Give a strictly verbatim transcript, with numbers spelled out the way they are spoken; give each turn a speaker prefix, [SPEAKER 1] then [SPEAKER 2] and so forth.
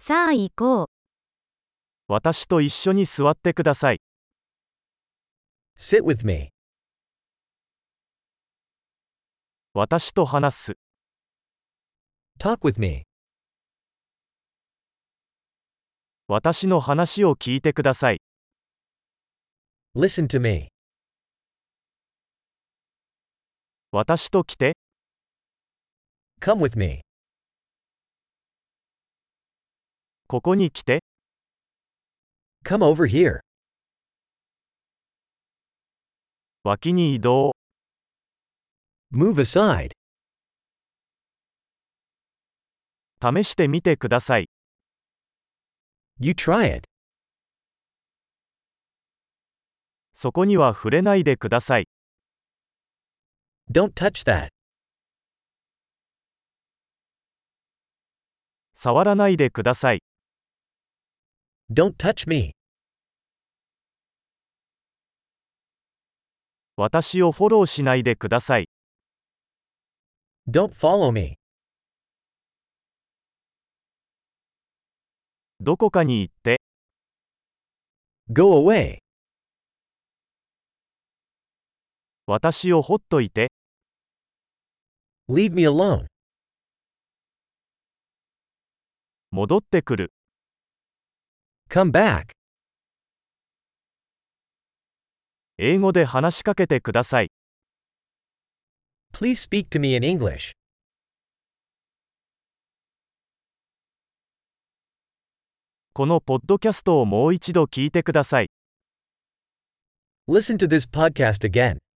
[SPEAKER 1] さあ行こう。
[SPEAKER 2] 私と一緒に座ってください。
[SPEAKER 3] Sit with me.
[SPEAKER 2] 私と話す。
[SPEAKER 3] Talk with me.
[SPEAKER 2] 私の話を聞いてください。
[SPEAKER 3] Listen to me.
[SPEAKER 2] 私と来て。
[SPEAKER 3] Come with me.
[SPEAKER 2] ここに来て。
[SPEAKER 3] Come over here.
[SPEAKER 2] 脇に移動。
[SPEAKER 3] Move aside.
[SPEAKER 2] 試してみてください。
[SPEAKER 3] You try it.
[SPEAKER 2] そこには触れないでください。
[SPEAKER 3] Don't touch that.
[SPEAKER 2] 触らないでください。
[SPEAKER 3] Don't touch me.
[SPEAKER 2] 私をフォローしないでください。
[SPEAKER 3] Don't follow me.
[SPEAKER 2] どこかに行って。
[SPEAKER 3] Go away.
[SPEAKER 2] 私をほっといて。
[SPEAKER 3] Leave me alone.
[SPEAKER 2] 戻ってくる。
[SPEAKER 3] Come back.
[SPEAKER 2] 英語で話しかけてください。
[SPEAKER 3] Please speak to me in English.
[SPEAKER 2] このポッドキャストをもう一度聞いてください。
[SPEAKER 3] Listen to this podcast again.